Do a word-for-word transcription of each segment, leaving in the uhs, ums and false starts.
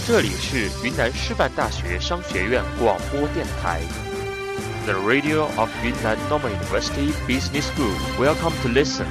这里是云南师范大学商学院广播电台 The Radio of Yunnan Normal University Business School. Welcome to listen.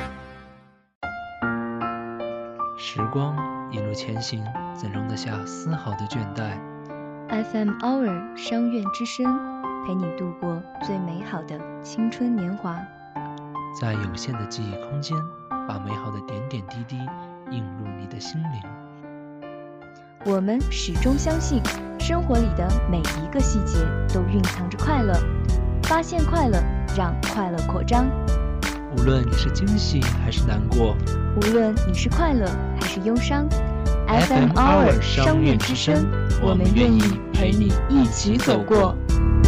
时光一路前行，怎容得下丝毫的倦怠？ F M Hour 商院之声，陪你度过最美好的青春年华。 在有限的记忆空间，把美好的点点滴滴映入你的心灵。 我们始终相信，生活里的每一个细节都蕴藏着快乐。发现快乐，让快乐扩张。 无论你是惊喜还是难过， 无论你是快乐还是忧伤 ，F M Hour 商院之声，我们愿意陪你一起走过。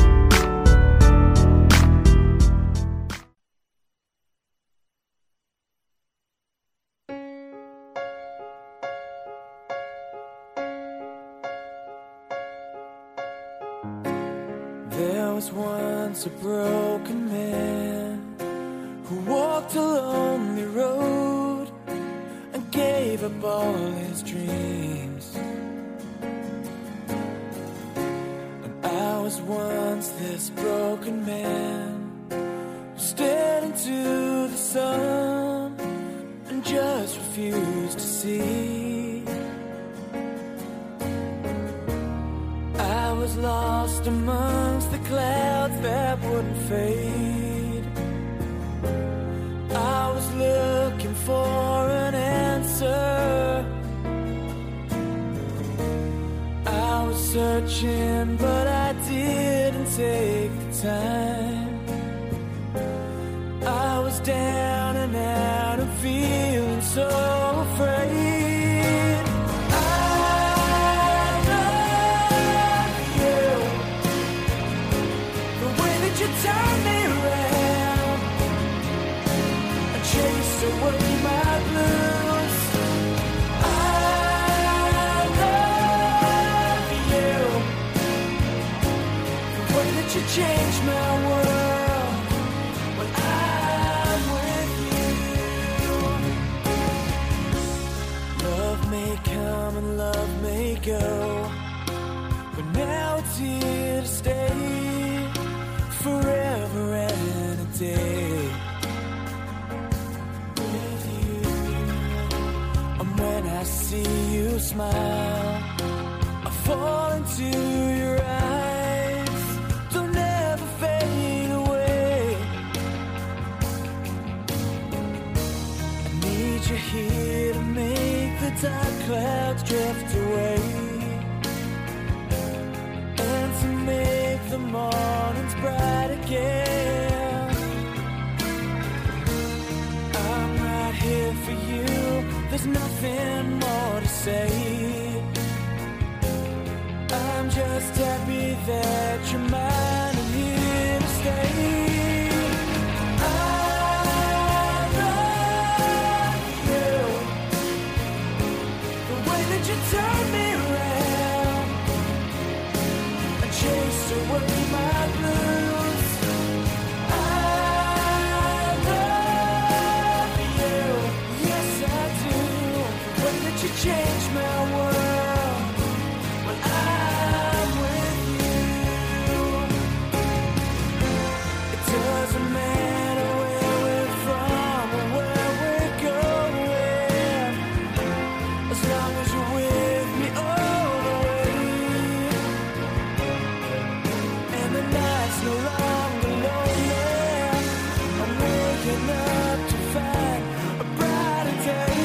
There was once a broken man who walked a lonely road and gave up all his dreams. And I was once this broken man who stared into the sun and just refused to see. I was lost amongst the clouds that wouldn't fade. I was looking for an answer. I was searching, but I didn't take the time. I was down and out and feeling so afraid. Turn me around and chase away my blues. I love you, the way that you change my world when I'm with you. Love may come and love may go, but now it's here to stay forever and a day with you. And when I see you smile, I fall into your eyes. They'll never fade away. I need you here to make the dark clouds drift away, and to make the mornings bright again. I'm right here for you, there's nothing more to say. I'm just happy that you're mine and here to stay. I love you, the way that you turn me around and chase away my blues. I love you, yes I do, the way that you change my world when I'm with you. It doesn't matter where we're from or where we're going, as long as you're with me all the way. And the night's no longer lonely, I'm waking up to find a brighter day.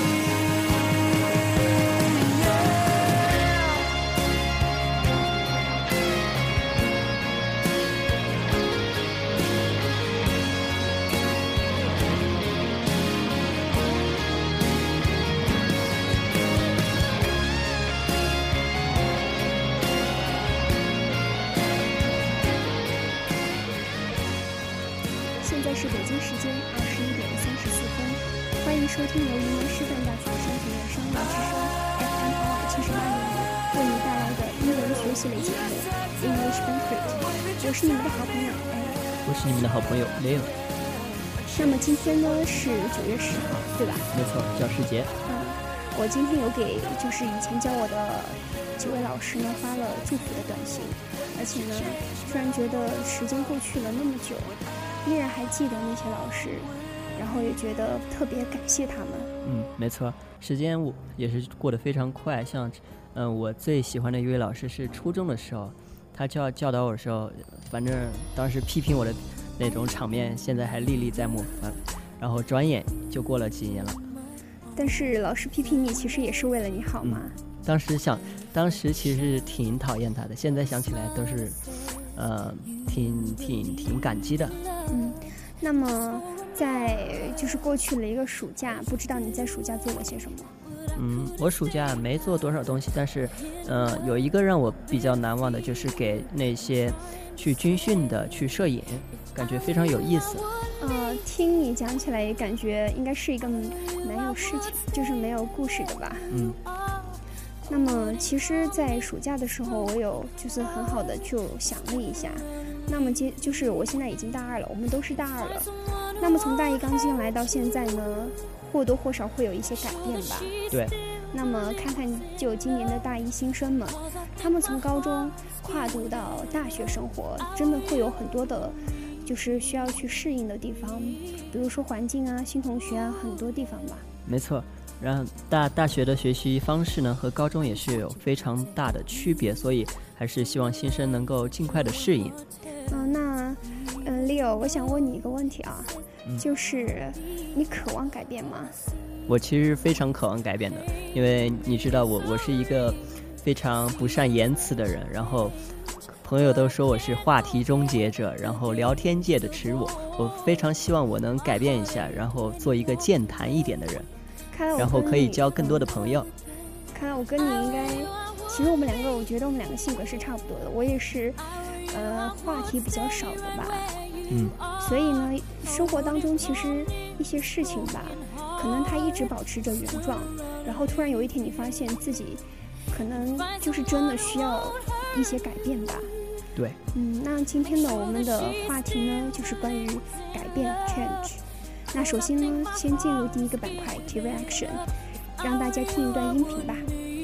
Yeah. 现在是北京时间二十一点三十四分，欢迎收听由云南师范大学商学院商业之声 F M R 七十八年为你带来的英文学习类节目 English Banquet。我是你们的好朋友 Anna， 我是你们的好朋友 Leo。 那么今天呢是九月十号，对吧？ 没错，教师节。 嗯， 我今天有给就是以前教我的几位老师呢发了祝福的短信，而且呢，突然觉得时间过去了那么久，依然还记得那些老师，然后也觉得特别感谢他们。 嗯，没错，时间我也是过得非常快。像，嗯、呃，我最喜欢的一位老师是初中的时候，他教教导我的时候，反正当时批评我的那种场面，现在还历历在目。嗯，然后转眼就过了几年了。 但是老师批评你，其实也是为了你好嘛。 嗯、当时想，当时其实挺讨厌他的，现在想起来都是，呃，挺挺挺感激的。 嗯，那么。在就是过去了一个暑假，不知道你在暑假做了些什么？ 嗯，我暑假没做多少东西，但是，呃，有一个让我比较难忘的，就是给那些去军训的去摄影，感觉非常有意思。 呃，听你讲起来也感觉应该是一个没有事情，就是没有故事的吧？ 嗯。 那么，其实，在暑假的时候，我有就是很好的就想了一下。那么接就是我现在已经大二了，我们都是大二了。那么从大一刚进来到现在呢，或多或少会有一些改变吧。 对。 那么看看就今年的大一新生们，他们从高中跨度到大学生活，真的会有很多的，就是需要去适应的地方，比如说环境啊、新同学啊，很多地方吧。 没错。然后大大学的学习方式呢，和高中也是有非常大的区别，所以还是希望新生能够尽快的适应。 嗯、呃，那，嗯 ，Leo， 我想问你一个问题啊，嗯、就是你渴望改变吗？ 我其实非常渴望改变的，因为你知道我我是一个非常不善言辞的人，然后朋友都说我是话题终结者，然后聊天界的耻辱。我非常希望我能改变一下，然后做一个健谈一点的人。然后可以交更多的朋友。 看来我跟你应该，其实我们两个，我觉得我们两个性格是差不多的。我也是，呃，话题比较少的吧。 嗯。 所以呢，生活当中其实一些事情吧，可能它一直保持着原状，然后突然有一天你发现自己，可能就是真的需要一些改变吧。 对。 嗯，那今天呢，我们的话题呢，就是关于改变 change。那首先呢，先进入第一个板块 Key Reaction， 让大家听一段音频吧。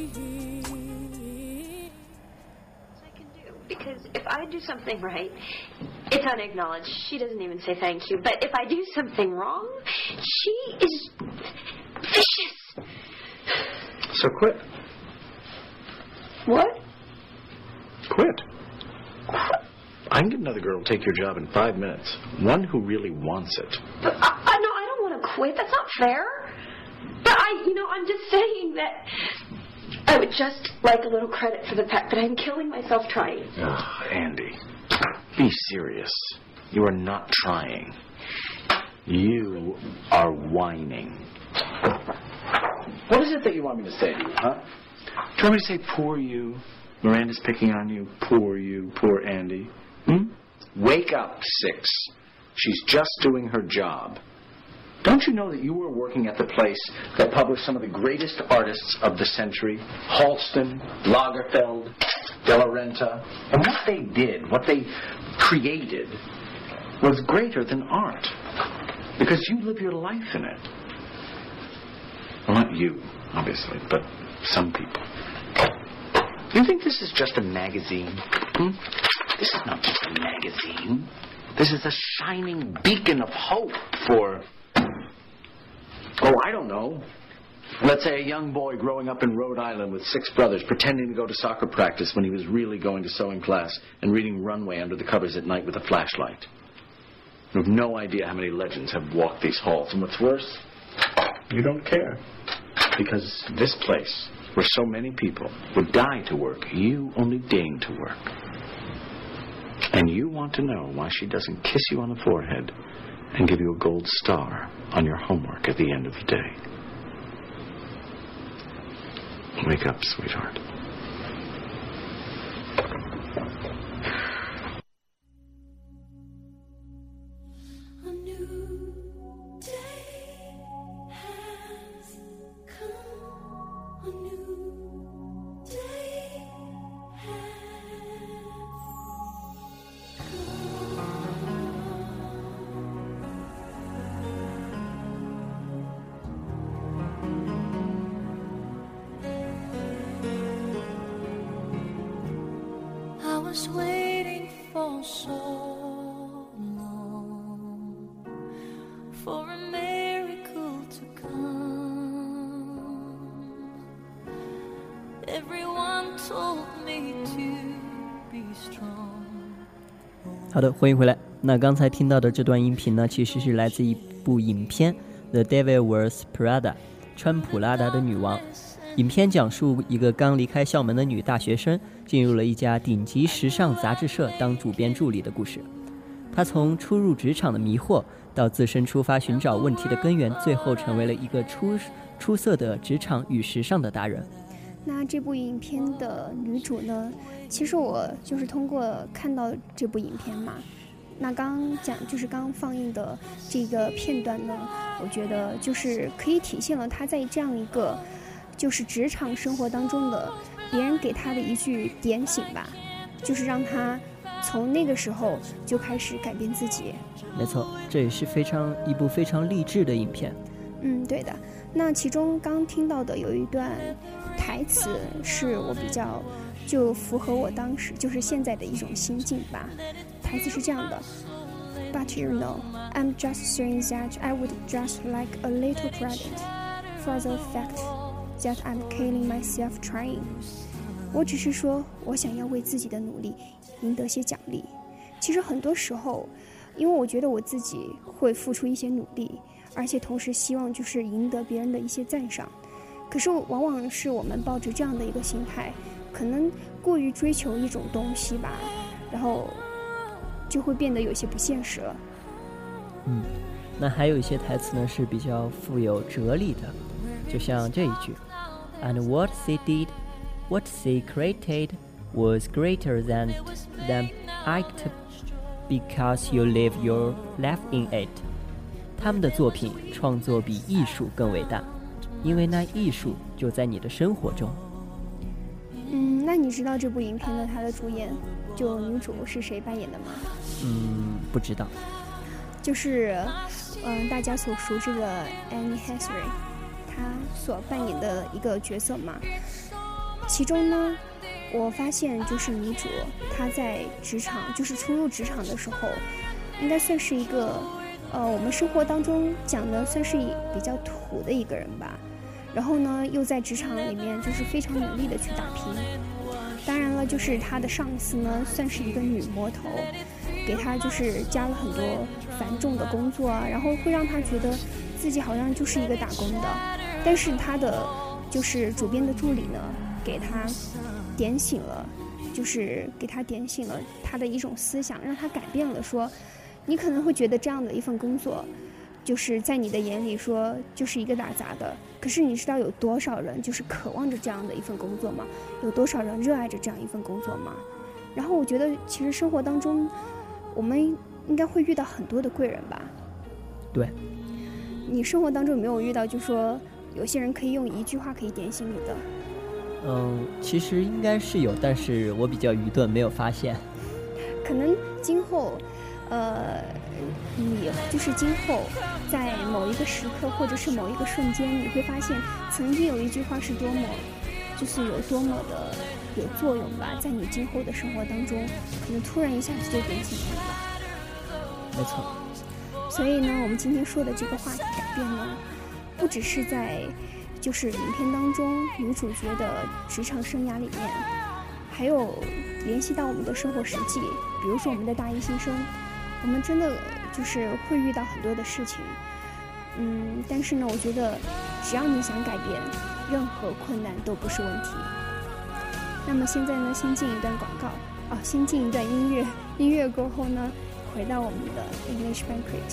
Because if I do something right, it's unacknowledged. She doesn't even say thank you. But if I do something wrong, she is vicious. So quit. What? Quit. I can get another girl to take your job in five minutes. One who really wants it. But I, I no, I don't want to quit. That's not fair. But I, you know, I'm just saying that I would just like a little credit for the fact that I'm killing myself trying. Oh, Andy, be serious. You are not trying. You are whining. What is it that you want me to say to you, huh? Do you want me to say, poor you? Miranda's picking on you. Poor you. Poor Andy. Hmm? Wake up, Six. She's just doing her job. Don't you know that you were working at the place that published some of the greatest artists of the century? Halston, Lagerfeld, De La Renta. And what they did, what they created, was greater than art. Because you live your life in it. Well, not you, obviously, but some people. You think this is just a magazine? Hmm? This is not just a magazine. This is a shining beacon of hope for, oh, I don't know. Let's say a young boy growing up in Rhode Island with six brothers pretending to go to soccer practice when he was really going to sewing class and reading Runway under the covers at night with a flashlight. You have no idea how many legends have walked these halls. And what's worse, you don't care. Because this place, where so many people would die to work, you only deign to work. And you want to know why she doesn't kiss you on the forehead and give you a gold star on your homework at the end of the day. Wake up, sweetheart. was waiting for so long for a miracle to come. Everyone told me to be strong. 好的，欢迎回来。那刚才听到的这段音频呢，其实是来自一部影片《The Devil Wears Prada》，穿普拉达的女王。影片讲述一个刚离开校门的女大学生，进入了一家顶级时尚杂志社当主编助理的故事。她从初入职场的迷惑，到自身出发寻找问题的根源，最后成为了一个出出色的职场与时尚的达人。 那这部影片的女主呢，其实我就是通过看到这部影片嘛，那刚讲就是刚放映的这个片段呢，我觉得就是可以体现了她在这样一个就是职场生活当中的别人给她的一句点醒吧，就是让她从那个时候就开始改变自己。 没错，这也是非常一部非常励志的影片。 嗯，对的。那其中刚听到的有一段台词是我比较就符合我当时就是现在的一种心境吧。台词是这样的 ：But you know, I'm just saying that I would just like a little credit for the fact that I'm killing myself trying. 我只是说，我想要为自己的努力赢得些奖励。其实很多时候，因为我觉得我自己会付出一些努力，而且同时希望就是赢得别人的一些赞赏。可是往往是我们抱着这样的一个心态，可能过于追求一种东西吧，然后就会变得有些不现实了。 嗯，那还有一些台词呢是比较富有哲理的，就像这一句 ：And what they did, what they created, was greater than than act, because you live your life in it. 他们的作品创作比艺术更伟大，因为那艺术就在你的生活中。 嗯，那你知道这部影片的它的主演就女主是谁扮演的吗？ 嗯，不知道。 就是嗯、呃，大家所熟知的 Anne Hathaway， 她所扮演的一个角色嘛。其中呢，我发现就是女主她在职场，就是初入职场的时候，应该算是一个呃，我们生活当中讲的算是比较土的一个人吧。然后呢，又在职场里面就是非常努力的去打拼。当然了，就是她的上司呢，算是一个女魔头，给她就是加了很多繁重的工作啊，然后会让她觉得自己好像就是一个打工的。但是她的就是主编的助理呢，给她点醒了，就是给她点醒了她的一种思想，让她改变了说。你可能会觉得这样的一份工作，就是在你的眼里说就是一个打杂的，可是你知道有多少人就是渴望着这样的一份工作吗？有多少人热爱着这样一份工作吗？然后我觉得其实生活当中我们应该会遇到很多的贵人吧。 对， 你生活当中有没有遇到就说有些人可以用一句话可以点醒你的？ 嗯，其实应该是有，但是我比较愚钝，没有发现。 可能今后呃，你就是今后在某一个时刻或者是某一个瞬间，你会发现曾经有一句话是多么就是有多么的有作用吧，在你今后的生活当中可能突然一下子就点醒你了。 没错。 所以呢，我们今天说的这个话题改变呢，不只是在就是影片当中女主角的职场生涯里面，还有联系到我们的生活实际，比如说我们的大一新生，我们真的就是会遇到很多的事情，嗯，但是呢，我觉得只要你想改变，任何困难都不是问题。那么现在呢，先进一段广告啊，先进一段音乐，音乐过后呢，回到我们的 English Banquet。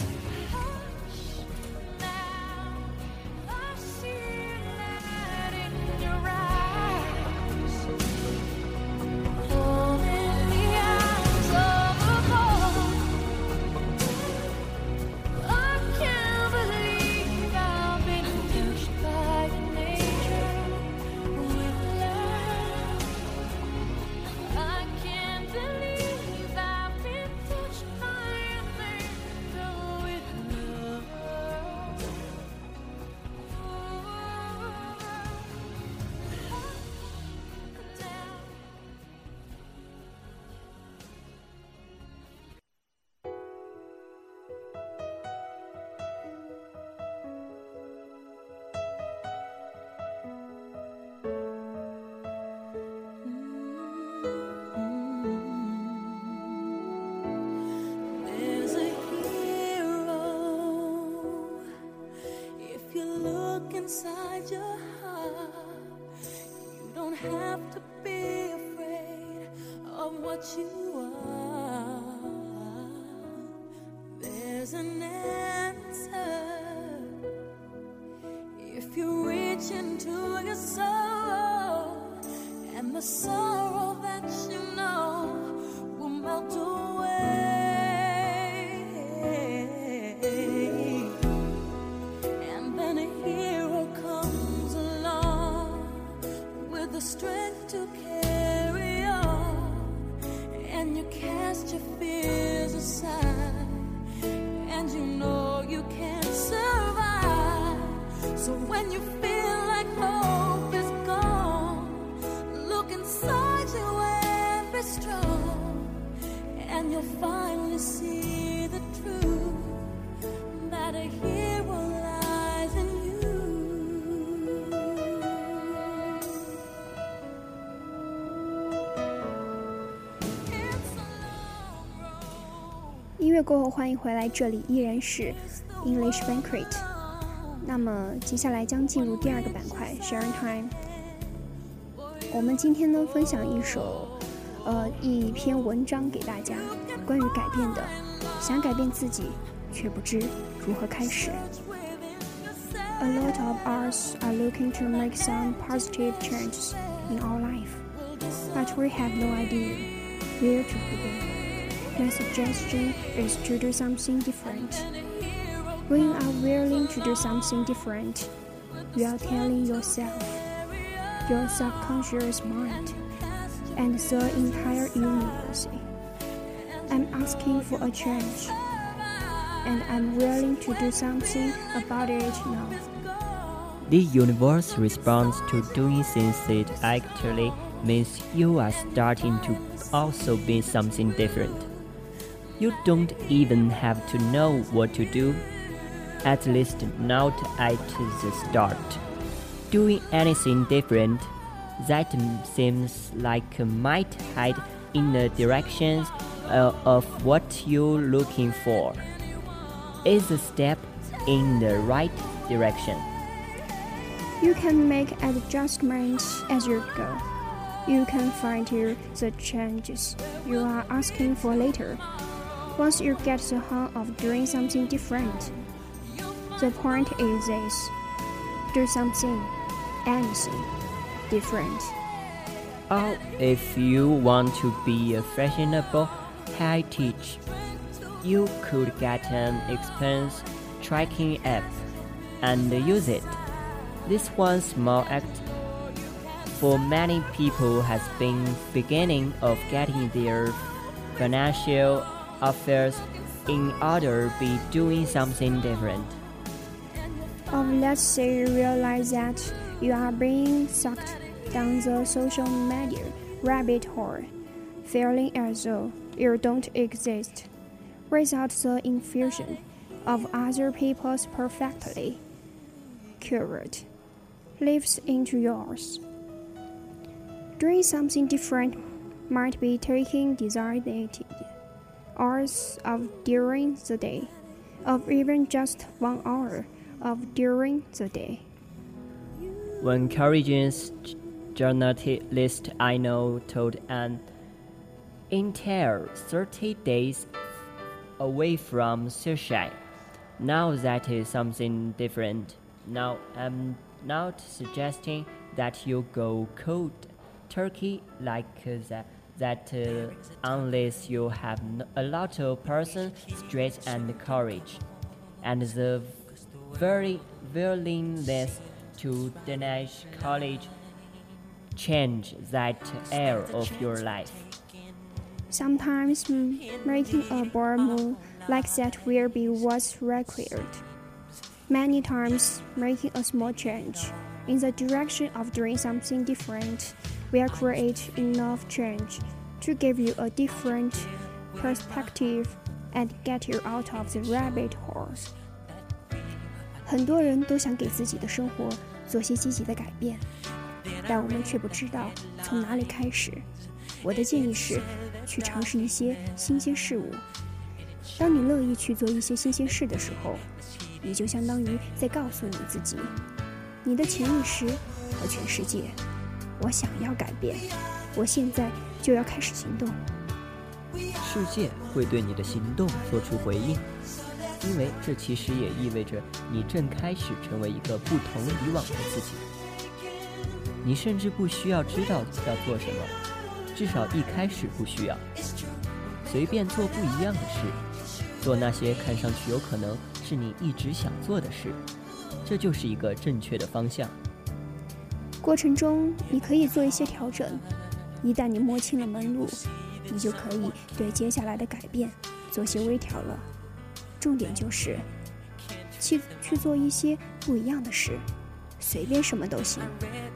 inside your heart. You don't have to be afraid of what you are. There's an answer if you reach into your soul, and the sorrow that you know will melt away. And then a hero comes along with the strength to carry on, and you cast your fears aside, and you know you can survive. So when you feel like hope is gone, look inside you and be strong, and you'll finally see the truth, that a hero lies in you. 音乐过后，欢迎回来，这里依然是 English Banquet。那么接下来将进入第二个板块 Sharing Time。我们今天呢分享一首呃一篇文章给大家，关于改变的，想改变自己却不知如何开始。A lot of us are looking to make some positive changes in our life, but we have no idea where to begin. My suggestion is to do something different. When you are willing to do something different, you are telling yourself, your subconscious mind, and the entire universe, I'm asking for a change, and I'm willing to do something about it now. The universe responds to doing things that actually means you are starting to also be something different. You don't even have to know what to do, at least not at the start. Doing anything different that seems like might head in the direction uh, of what you're looking for is a step in the right direction. You can make adjustments as you go. You can find the changes you are asking for later. Once you get the hang of doing something different, the point is this: do something, anything, different. Or if you want to be a fashionable high teacher, you could get an expense tracking app and use it. This one small act for many people has been beginning of getting their financial affairs in order to be doing something different. Or let's say you realize that you are being sucked down the social media rabbit hole, feeling as though you don't exist, without the infusion of other people's perfectly curated lives into yours. Doing something different might be taking designated hours of during the day, or even just one hour of during the day. One courageous journalist I know told an entire thirty days away from suicide. Now that is something different. Now I'm not suggesting that you go cold turkey like that, that uh, unless you have a lot of person strength and courage, and the very willingness to deny college change that area of your life. Sometimes making a bold move like that will be what's required. Many times, making a small change in the direction of doing something different will create enough change to give you a different perspective and get you out of the rabbit hole. 很多人都想给自己的生活做些积极的改变，但我们却不知道从哪里开始。我的建议是，去尝试一些新鲜事物。当你乐意去做一些新鲜事的时候，你就相当于在告诉你自己， 你的潜意识和全世界。我想要改变，我现在就要开始行动。 世界会对你的行动做出回应，因为这其实也意味着你正开始成为一个不同以往的自己。你甚至不需要知道要做什么，至少一开始不需要。随便做不一样的事，做那些看上去有可能是你一直想做的事，这就是一个正确的方向。 过程中你可以做一些调整，一旦你摸清了门路，你就可以对接下来的改变做些微调了。重点就是去去做一些不一样的事，随便什么都行。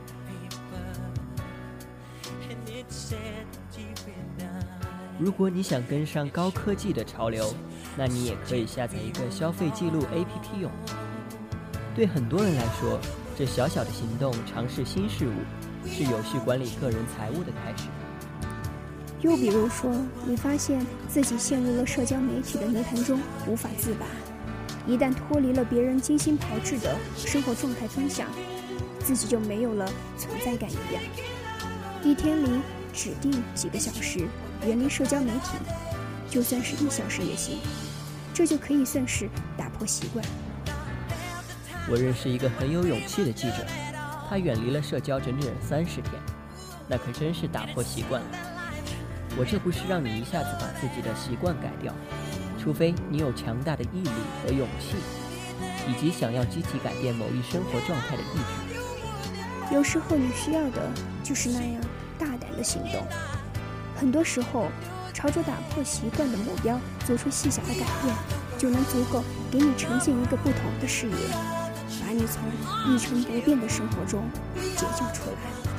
如果你想跟上高科技的潮流，那你也可以下载一个消费记录 A P P 用。对很多人来说，这小小的行动尝试新事物，是有序管理个人财务的开始。 又比如说，你发现自己陷入了社交媒体的泥潭中无法自拔，一旦脱离了别人精心炮制的生活状态分享，自己就没有了存在感一样。一天里指定几个小时远离社交媒体，就算是一小时也行，这就可以算是打破习惯。 我认识一个很有勇气的记者，他远离了社交整整三十天，那可真是打破习惯了。我这不是让你一下子把自己的习惯改掉，除非你有强大的毅力和勇气，以及想要积极改变某一生活状态的意志。 有时候你需要的就是那样大胆的行动。很多时候，朝着打破习惯的目标做出细小的改变，就能足够给你呈现一个不同的视野，把你从一成不变的生活中解救出来。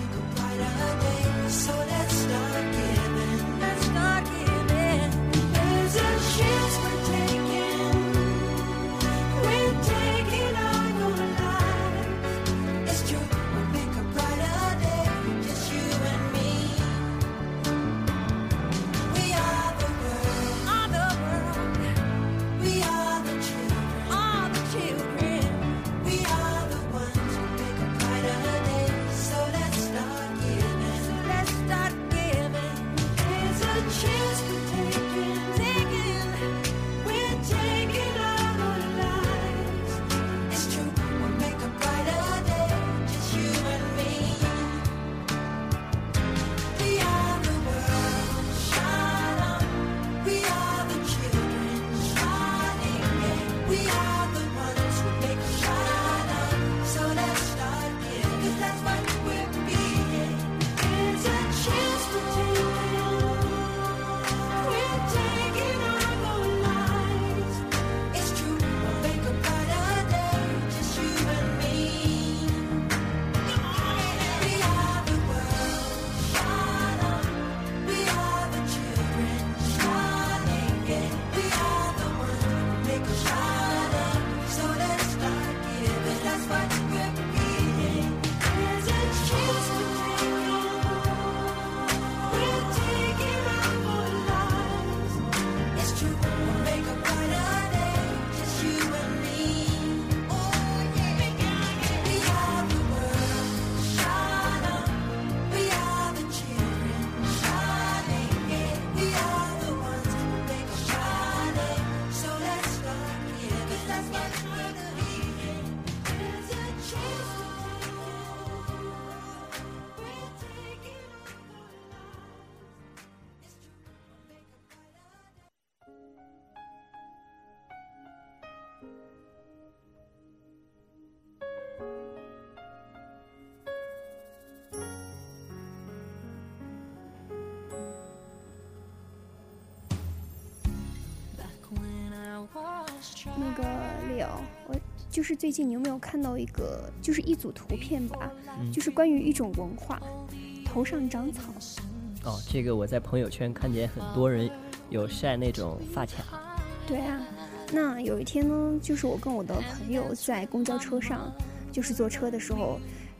那个 Leo， 我就是最近你有没有看到一个，就是一组图片吧，嗯、就是关于一种文化，头上长草。 哦，这个我在朋友圈看见很多人有晒那种发卡。 对啊，那有一天呢，就是我跟我的朋友在公交车上，就是坐车的时候，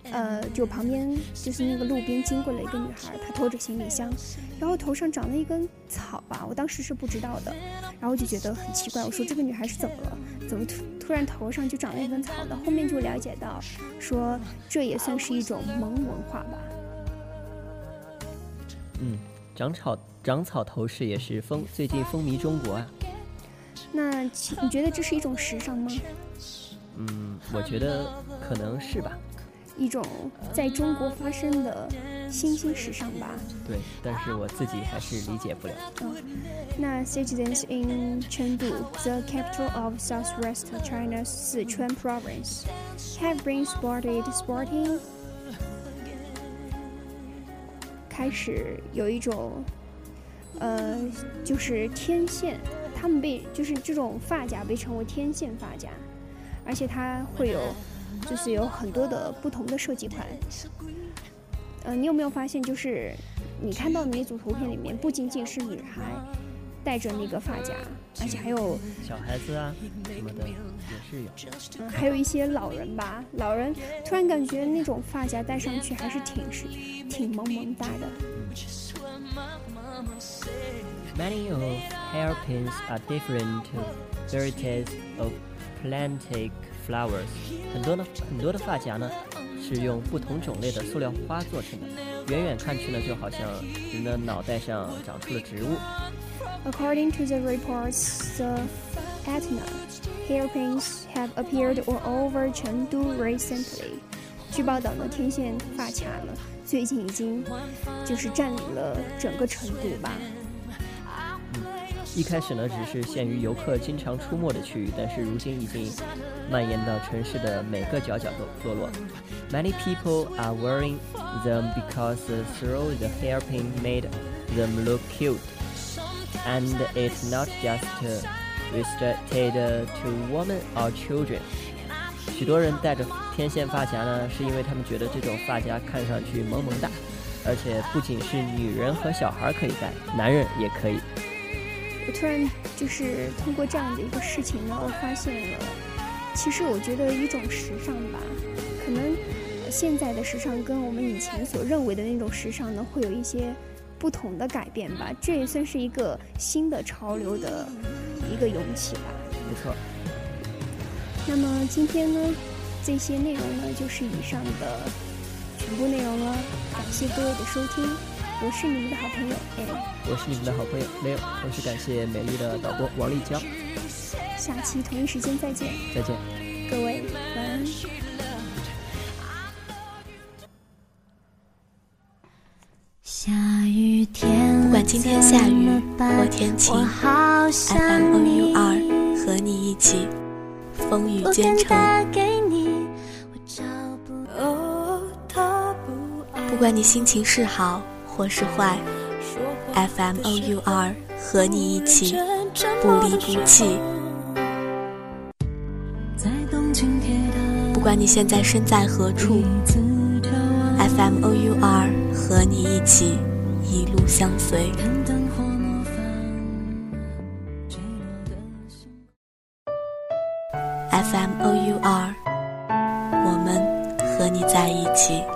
呃，就旁边就是那个路边经过了一个女孩，她拖着行李箱，然后头上长了一根草吧，我当时是不知道的，然后我就觉得很奇怪，我说这个女孩是怎么了？怎么突突然头上就长了一根草的？后面就了解到，说这也算是一种蒙文化吧。 嗯，长草长草头饰也是风最近风靡中国啊。 那你觉得这是一种时尚吗？ 嗯，我觉得可能是吧。 一种在中国发生的新兴时尚吧。 对，但是我自己还是理解不了。 嗯，那 citizens in Chengdu, the capital of southwest China's Sichuan province, have been spotted sporting. 开始有一种，呃，就是天线，他们被就是这种发夹被称为天线发夹，而且它会有。就是有很多的不同的设计款，呃，你有没有发现，就是你看到的那组图片里面，不仅仅是女孩戴着那个发夹，而且还有小孩子啊什么的也是有， 嗯，还有一些老人吧，老人突然感觉那种发夹戴上去还是挺是挺萌萌哒的。 Many of hairpins are different varieties of planted flowers. 很多呢，很多的发夹呢是用不同种类的塑料花做成的，远远看去呢就好像人的脑袋上长出了植物。 According to the reports, the Etna hairpins have appeared all over Chengdu recently. 据报道呢，天线发卡呢最近已经就是占领了整个成都吧。 一开始呢，只是限于游客经常出没的区域，但是如今已经蔓延到城市的每个角角落落。Many people are wearing them because through the hairpin made them look cute, and it's not just restricted to women or children. 许多人戴着天线发夹呢，是因为他们觉得这种发夹看上去萌萌哒，而且不仅是女人和小孩可以戴，男人也可以。 我突然就是通过这样的一个事情呢，我发现了，其实我觉得一种时尚吧，可能现在的时尚跟我们以前所认为的那种时尚呢，会有一些不同的改变吧。这也算是一个新的潮流的一个涌起吧。 没错。 那么今天呢，这些内容呢，就是以上的全部内容了。感谢各位的收听。我是你们的好朋友 A， 我是你们的好朋友 Leo， 同时感谢美丽的导播王丽娇。 下期同一时间再见。 再见， 各位晚安。 下雨天，不管今天下雨或天晴 ，F M O U R 和你一起风雨兼程。不管你心情是好或是坏 ，F M O U R 和你一起不离不弃。不管你现在身在何处 ，F M O U R 和你一起一路相随。F M O U R 我们和你在一起。